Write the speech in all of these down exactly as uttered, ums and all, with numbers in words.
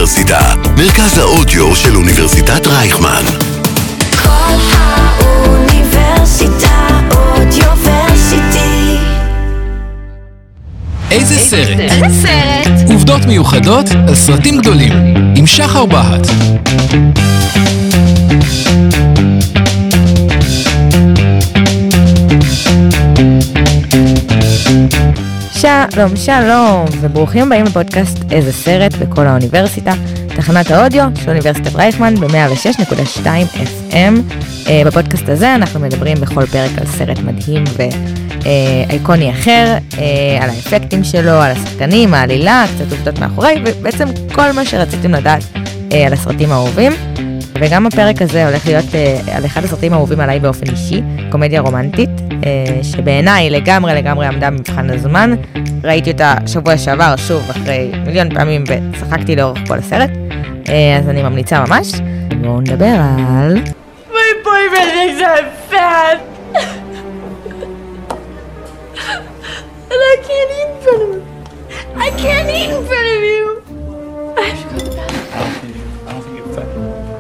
האוניברסיטה, מרכז האודיו של אוניברסיטת רייכמן. כל האוניברסיטה אודיוורסיטי. איזה סרט? איזה סרט? עובדות מיוחדות על סרטים גדולים, עם שחר בהט. שלום, שלום, וברוכים הבאים לפודקאסט איזה סרט בכל האוניברסיטה, תחנת האודיו של אוניברסיטת רייכמן ב-מאה ושש נקודה שתיים אף אם. בפודקאסט הזה אנחנו מדברים בכל פרק על סרט מדהים ואיקוני אחר, על האפקטים שלו, על השחקנים, העלילה, קצת עובדות מאחורי, ובעצם כל מה שרציתם לדעת על הסרטים האהובים. וגם הפרק הזה הולך להיות על אחד הסרטים האהובים עליי באופן אישי, קומדיה רומנטית, שבעיניי לגמרי לגמרי עמדה במבחן הזמן. ראיתי אותה שבוע שעבר שוב אחרי מיליון פעמים וצחקתי לאורך כל הסרט, אז אני ממליצה ממש. בואו נדבר על... My boyfriend thinks I'm fat! And I can't eat in front of him! I can't eat in front of you! I have to go to the bathroom. I don't think you, I don't think you're fat.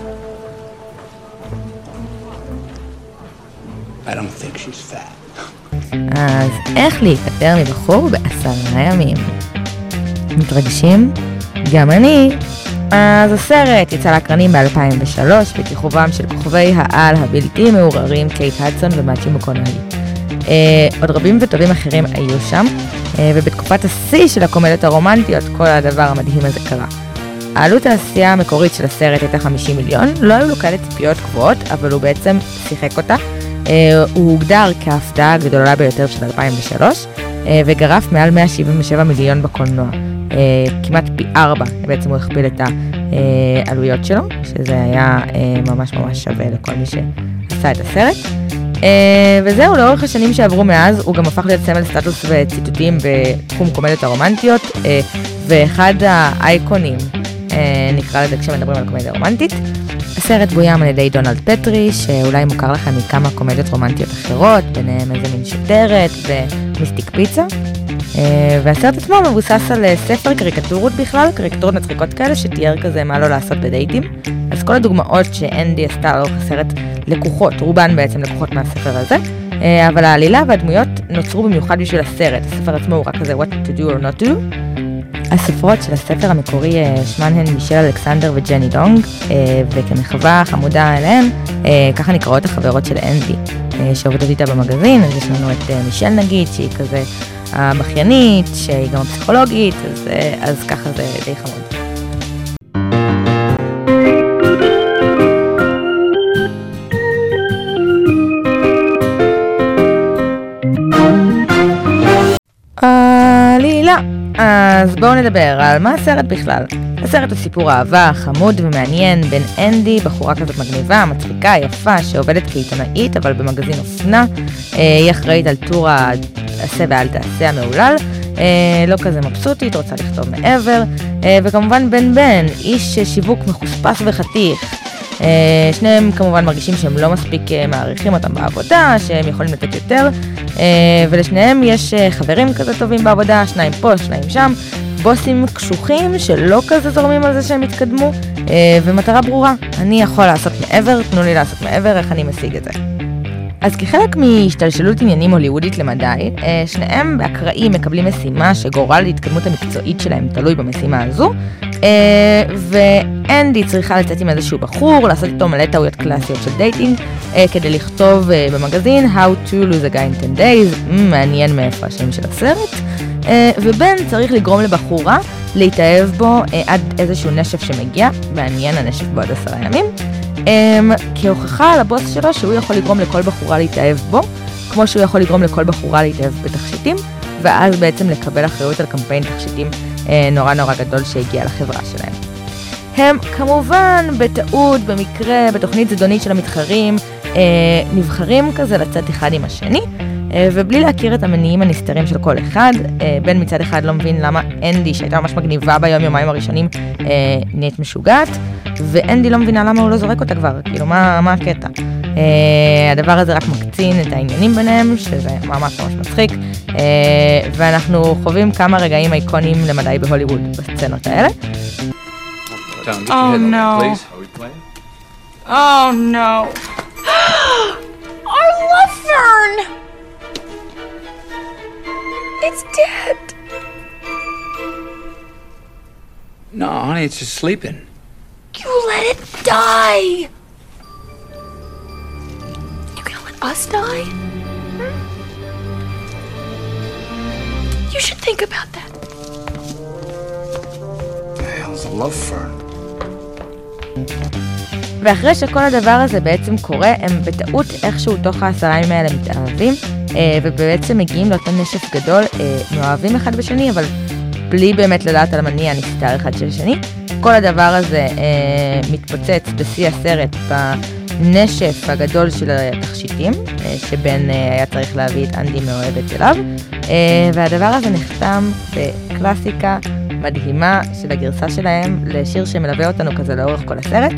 I don't think she's fat. אז איך להיפטר מבחור בעשרה ימים? מתרגשים? גם אני. אז הסרט יצא לאקרנים ב-אלפיים ושלוש בכיכובם של כוכבי העל הבלתי מעורערים קייט הדסון ומת'יו מקונאלי. אה, עוד רבים וטובים אחרים היו שם, אה, ובתקופת השיא של הקומדיות הרומנטיות כל הדבר המדהים הזה קרה. העלות העשייה המקורית של הסרט הייתה חמישים מיליון, לא היו לו כאלה ציפיות גבוהות, אבל הוא בעצם שיחק אותה. הוא הוגדר כהפתעה הגדולה ביותר של אלפיים ושלוש, וגרף מעל מאה שבעים ושבע מיליון בקולנוע. כמעט פי ארבע, בעצם הוא הכפיל את העלויות שלו, שזה היה ממש ממש שווה לכל מי שעשה את הסרט. וזהו, לאורך השנים שעברו מאז, הוא גם הפך להיות סמל סטטוס וציטוטים בתחום קומדיות הרומנטיות, ואחד האייקונים, נקרא לזה כשמדברים על קומדיה רומנטית. הסרט בוים על ידי דונלד פטרי, שאולי מוכר לכם מכמה קומדיות רומנטיות אחרות, ביניהם איזה מין שוטרת ומיסטיק פיצה. והסרט עצמו מבוסס על ספר קריקטורות בכלל, קריקטורות מצחיקות כאלה, שתיאר כזה מה לא לעשות בדייטים. אז כל הדוגמאות שאנדי עשתה לאורך הסרט לקוחות, רובן בעצם לקוחות מהספר הזה, אבל העלילה והדמויות נוצרו במיוחד בשביל הסרט. הספר עצמו הוא רק כזה what to do or not to do. הספרות של הספר המקורי שמן הן מישל אלכסנדר וג'ני דונג, וכמחווה חמודה אליהן, ככה נקראות החברות של אנדי, שעובדות איתה במגזין. אז יש לנו את מישל נגיד, שהיא כזה הבכיינית, שהיא גם הפסיכולוגית, אז, אז ככה זה די חמוד. עלילה. אז בואו נדבר על מה הסרט בכלל. הסרט הוא סיפור אהבה חמוד ומעניין בין אנדי, בחורה כזאת מגניבה, מצחיקה, יפה, שעובדת כעיתונאית אבל במגזין אופנה. היא אחראית על טור העשה ואל תעשה המעולל, לא כזה מבסוטית, רוצה לכתוב מעבר. וכמובן בן בן, איש שיווק מחוספס וחתיך. שניהם כמובן מרגישים שהם לא מספיק מעריכים אותם בעבודה, שהם יכולים לתת יותר, ולשניהם יש חברים כזה טובים בעבודה, שניים פה, שניים שם, בוסים קשוחים שלא כזה זורמים על זה שהם יתקדמו, ומטרה ברורה, אני יכול לעשות מעבר, תנו לי לעשות מעבר, איך אני משיג את זה. אז כחלק מהשתלשלות עניינים הוליוודית למדי, שניהם באקראי מקבלים משימה שגורל להתקדמות המקצועית שלהם תלוי במשימה הזו, ואנדי צריכה לצאת עם איזשהו בחור, לעשות איתו מלא טעויות קלאסיות של דייטינג, כדי לכתוב במגזין How to lose a guy in ten days, מעניין מאיפה השם של הסרט, ובן צריך לגרום לבחורה להתאהב בו עד איזשהו נשף שמגיע, מעניין הנשף בעוד עשרה ימים, כהוכחה על הבוס שלו שהוא יכול לגרום לכל בחורה להתאהב בו, כמו שהוא יכול לגרום לכל בחורה להתאהב בתכשיטים, ואז בעצם לקבל אחריות על קמפיין תכשיטים נורא נורא גדול שהגיע לחברה שלהם. הם כמובן בטעות, במקרה, בתוכנית זדונית של המתחרים, נבחרים כזה לצאת אחד עם השני, ובלי להכיר את המניעים הנסתרים של כל אחד. בן מצד אחד לא מבין למה אנדי, שהייתה ממש מגניבה ביום יומיים הראשונים, נהיית משוגעת, ואנדי לא מבינה למה הוא לא זורק אותה כבר, כאילו מה, מה הקטע. הדבר הזה רק מקצין את העניינים ביניהם, שזה ממש ממש מצחיק, ואנחנו חווים כמה רגעים אייקונים למדי בהוליווד בסצנות האלה. Tom, get Oh, your head in no. there, please. Are we playing? Oh no. Our love fern! It's dead. No, honey, it's just sleeping. You let it die. You gonna let us die? Hmm? You should think about that. The hell's a love fern? ואחרי שכל הדבר הזה בעצם קורה, הם בטעות איכשהו תוך העשרה ימים האלה מתאהבים, ובעצם מגיעים לאותו נשף גדול, מאוהבים אחד בשני, אבל בלי באמת לדעת על המניע נסתר אחד של השני. כל הדבר הזה מתפוצץ בשיא הסרט בנשף הגדול של התכשיטים, שבן היה צריך להביא את אנדי מאוהבת אליו, והדבר הזה נחתם בקלאסיקה מדהימה של הגרסה שלהם לשיר שמלווה אותנו כזה לאורך כל הסרט.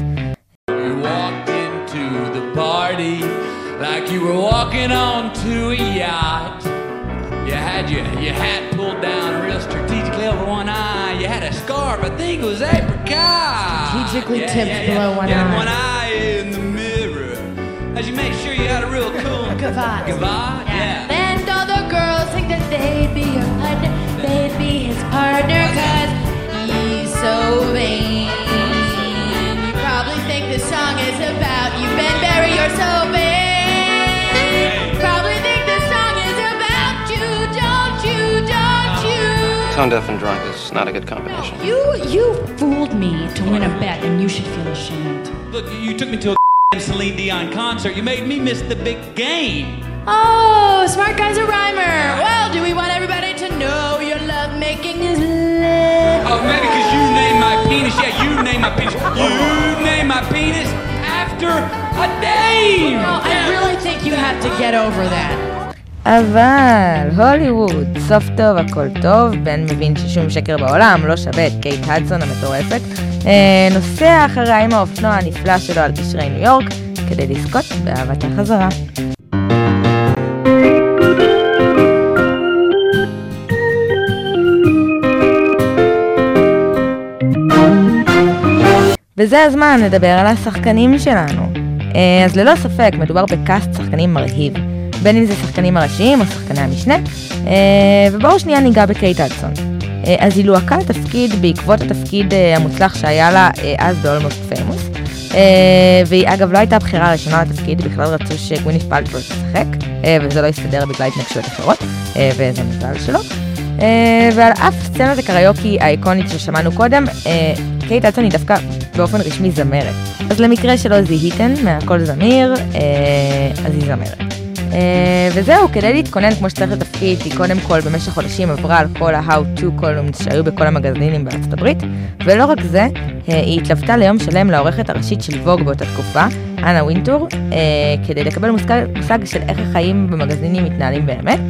Party like you were walking onto a yacht. You had your, your hat pulled down real strategically over one eye. You had a scarf, I think it was apricot. Strategically yeah, tipped yeah, yeah. below one you eye. had one eye in the mirror as you make sure you had a real cool Gavotte. Gavotte, yeah. And all the girls think that they'd be your partner, they'd be his partner, cause he's so vain. You probably think this song is about you, Ben Berry, you're so vain. Probably think this song is about you, don't you, don't you? Tone deaf and drunk is not a good combination. You, you fooled me to win a bet, and you should feel ashamed. Look, you took me to a Celine Dion concert. You made me miss the big game. Oh, smart guy's a rhymer. Well, do we want everybody to know your love making is lit? Oh, maybe because you named my penis. Yeah, you named my penis. You named my penis after a dame. No, I really think you have to get over that. אבל הוליווד, סוף טוב, הכל טוב, בן מבין ששום שקר בעולם לא שווה את קייט הדסון המטורפת, נוסע אחריה עם האופנוע הנפלא שלו על קשרי ניו יורק כדי לזכות באהבת החזרה. וזה הזמן לדבר על השחקנים שלנו. אז ללא ספק מדובר בקאסט שחקנים מרהיב, בין אם זה שחקנים הראשיים או שחקני המשנה, ובואו שנייה ניגע בקייט הדסון. אז היא לוהקה לתפקיד בעקבות התפקיד המוצלח שהיה לה אז ב-Almost Famous, והיא אגב לא הייתה בחירה ראשונה לתפקיד, בכלל רצו שגווינית פלטרו תשחק, וזה לא יסתדר בגלל התנגשויות אחרות, וזה מזל שלו. ועל אף סצנת הקריוקי האיקונית ששמענו קודם, קייט הדסון היא דווקא באופן רשמי זמרת. אז למקרה שלא זיהיתן מהכל זמיר, אז היא זמרת. וזהו, כדי להתכונן כמו שצריך לתפקיד, היא קודם כל במשך חודשים עברה על כל ה-How to columns שהיו בכל המגזינים בארצות הברית, ולא רק זה, היא התלוותה ליום שלם לעורכת הראשית של ווג באותה תקופה, אנה וינטור, כדי לקבל מושג של איך החיים במגזינים מתנהלים באמת.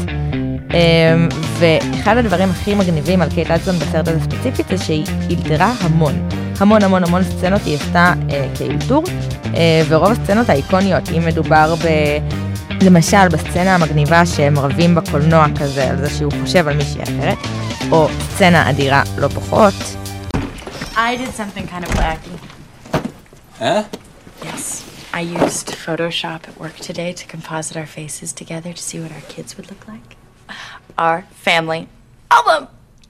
ואחד הדברים הכי מגניבים על קייט הדסון בסרט הזה ספציפית זה שהיא אילתרה המון, המון המון המון סצנות היא עשתה כאילתור, ורוב הסצנות האיקוניות, אם מדובר ב... למשל בסצנה המגניבה שהם רבים בקולנוע כזה על זה שהוא חושב על מישהי אחרת, או סצנה אדירה לא פחות. I did something kind of wacky. Huh? Yes. I used Photoshop at work today to composite our faces together to see what our kids would look like. Our family album!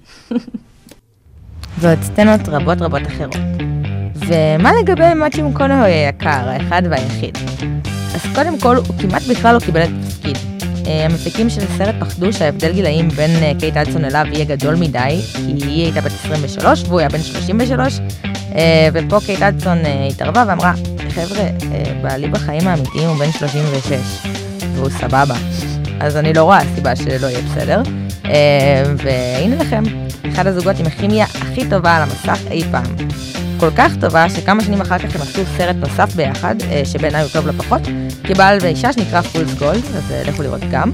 ועוד סצנות רבות רבות אחרות. ומה לגבי מאצ'י מקונאווי היקר, האחד והיחיד? אז קודם כל, הוא כמעט בכלל לא קיבל את התפקיד. המפיקים של הסרט פחדו שההבדל גילאים בין קייט הדסון אליו יהיה גדול מדי, כי היא הייתה בת עשרים ושלוש והוא היה בן שלושים ושלוש, ופה קייט הדסון התערבה ואמרה, חבר'ה, בעלי בחיים האמיתיים הוא בן שלושים ושש, והוא סבבה. אז אני לא רואה סיבה שלא יהיה בסדר. והנה לכם, אחד הזוגות עם הכימיה הכי טובה על המסך אי פעם. כל כך טובה שכמה שנים אחר כך הם עשו סרט נוסף ביחד, שבעיניי הוא טוב לא פחות, כבעל ואישה שנקרא פולס גולד, אז לכו לראות גם.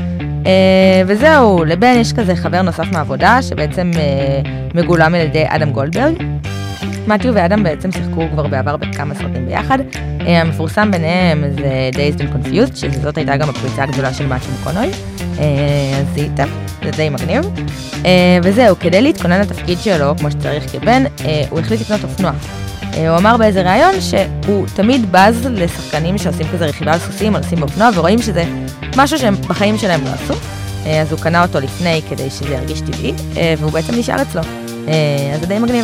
וזהו, לבן יש כזה חבר נוסף מהעבודה, שבעצם מגולם על ידי אדם גולדברג. מתיו ואדם בעצם שיחקו כבר בעבר בכמה סרטים ביחד. המפורסם ביניהם זה Dazed and Confused, שזאת הייתה גם הפריצה הגדולה של מאצ'י מקונאווי. אז זה איתם, זה די מגניב. וזהו, כדי להתכונן לתפקיד שלו, כמו שצריך כבן, הוא החליט לקנות אופנוע. הוא אמר באיזה ראיון שהוא תמיד בז לשחקנים שעושים כזה רכיבה על סוסים או נוסעים באופנוע, ורואים שזה משהו שהם בחיים שלהם לא עשו. אז הוא קנה אותו לפני כדי שזה ירגיש טבעי, והוא בעצם נשאר אצלו. אז זה די מגניב.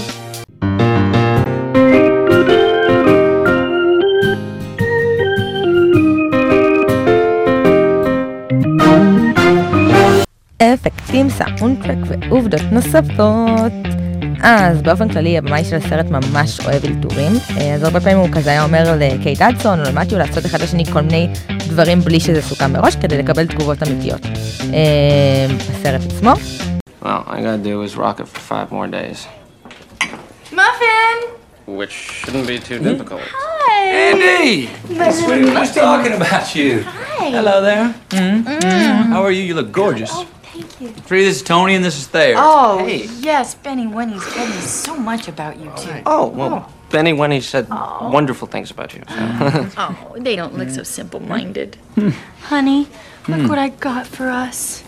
אפקטים, סאונדטרק ועובדות נוספות. אז באופן כללי, הבמאי של הסרט ממש אוהב אלתורים, אז הרבה פעמים הוא כזה היה אומר לקייט אדסון או למתיו לעשות אחד לשני כל מיני דברים בלי שזה סוכם מראש, כדי לקבל תגובות אמיתיות. הסרט עצמו. Well, all I gotta do is rock it for five more days. Muffin! Which shouldn't be too difficult. Hi! Andy! Sweetie, we're just talking about you. Hi! Hello there. Mm-hmm. Mm-hmm. How are you? You look gorgeous. Oh, thank you. Free, this is Tony and this is Thayer. Oh, Hey. yes, Benny Winnie's told me so much about you two. Oh, well, Benny Winnie said wonderful things about you. So. Oh, they don't look so simple-minded. Honey, look what I got for us.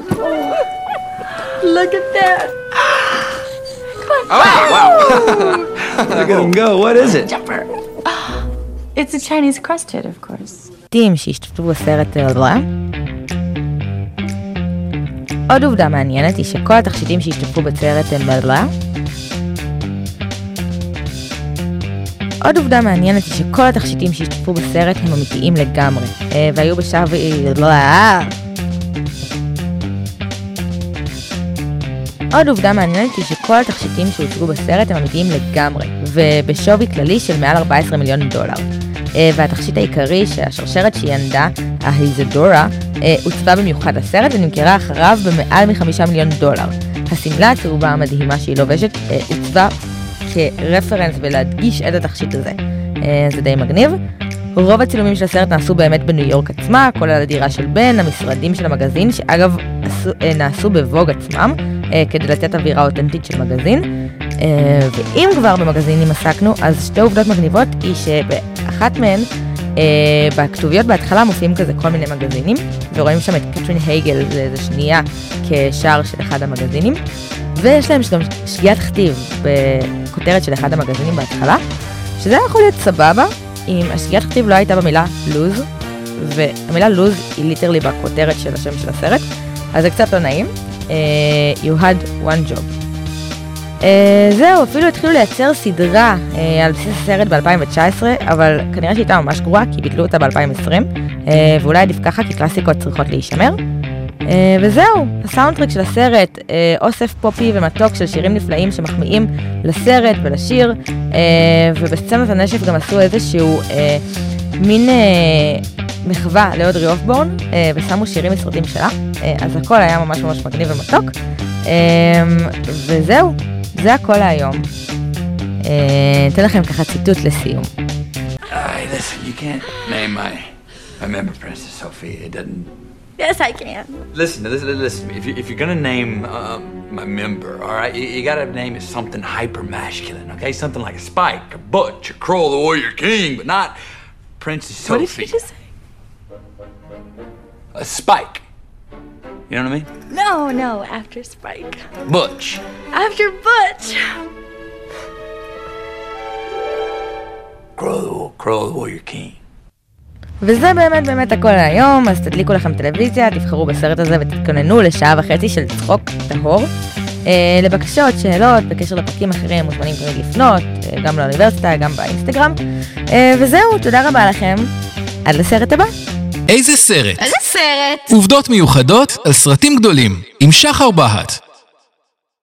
Look at that. Oh, wow! Look at him go. What is it? Jumper. It's a Chinese crested, of course. טים שהשתתפו בסרט רע. עוד עובדה מעניינת היא שכל התכשיטים שהשתתפו בסרט הם בלע. עוד עובדה מעניינת היא שכל התכשיטים שהשתתפו בסרט הם אמיתיים לגמרי, והיו בשלב... עוד עובדה מעניינת היא שכל התכשיטים שהוצגו בסרט הם אמיתיים לגמרי, ובשווי כללי של מעל ארבעה עשר מיליון דולר. והתכשיט העיקרי שהשרשרת שהיא ענדה, ההיזדורה, הוצבה במיוחד לסרט ונמכרה אחריו במעל מחמישה מיליון דולר. הסמלה הצהובה המדהימה שהיא לובשת הוצבה כרפרנס ולהדגיש את התכשיט הזה. זה די מגניב. רוב הצילומים של הסרט נעשו באמת בניו יורק עצמה, כולל הדירה של בן, המשרדים של המגזין, שאגב נעשו בווג עצמם, כדי לתת אווירה אותנטית של מגזין. ואם כבר במגזינים עסקנו, אז שתי עובדות מגניבות היא שבאחת מהן, בכתוביות בהתחלה מופיעים כזה כל מיני מגזינים, ורואים שם את קטרין הייגל, זה שנייה כשער של אחד המגזינים, ויש להם גם שגיאת כתיב בכותרת של אחד המגזינים בהתחלה, שזה יכול להיות סבבה, אם השגיאת כתיב לא הייתה במילה לוז, והמילה לוז היא ליטרלי בכותרת של השם של הסרט, אז זה קצת לא נעים. Uh, you had one job. Uh, זהו, אפילו התחילו לייצר סדרה uh, על בסיס הסרט ב-אלפיים תשע עשרה, אבל כנראה שהייתה ממש גרועה, כי ביטלו אותה ב-אלפיים עשרים, uh, ואולי עדיף ככה, כי קלאסיקות צריכות להישמר. Uh, וזהו, הסאונדטרק של הסרט, uh, אוסף פופי ומתוק של שירים נפלאים שמחמיאים לסרט ולשיר, uh, ובסצנת הנשף גם עשו איזשהו uh, מין... Uh, מחווה לאודרי אופבורן, ושמו שירים מסרטים שלה, אז הכל היה ממש ממש מגניב ומתוק, וזהו, זה הכל להיום. אתן לכם ככה ציטוט לסיום. Hey, listen, you can't name my, my member, Princess Sophia. It doesn't... Yes, I can. Listen, listen, listen. If, you, if you're gonna name um, my member, all right, you, you gotta name it something hyper-masculine, okay? Something like a Spike, a Butch, a Kroll, the Warrior King, but not Princess Sophia. What did you just say? A Spike. You know what I mean? No, no, after Spike. Butch. After Butch. Crow, Crow, the Warrior King. וזה באמת באמת הכל היום, אז תדליקו לכם טלוויזיה, תבחרו בסרט הזה ותתכוננו לשעה וחצי של צחוק טהור. אה, לבקשות, שאלות, בקשר לפרקים אחרים, מוזמנים תמיד לפנות, אה, גם לאוניברסיטה, גם באינסטגרם. אה, וזהו, תודה רבה לכם. עד לסרט הבא. איזה סרט? איזה סרט? עובדות מיוחדות על סרטים גדולים, עם שחר בהט.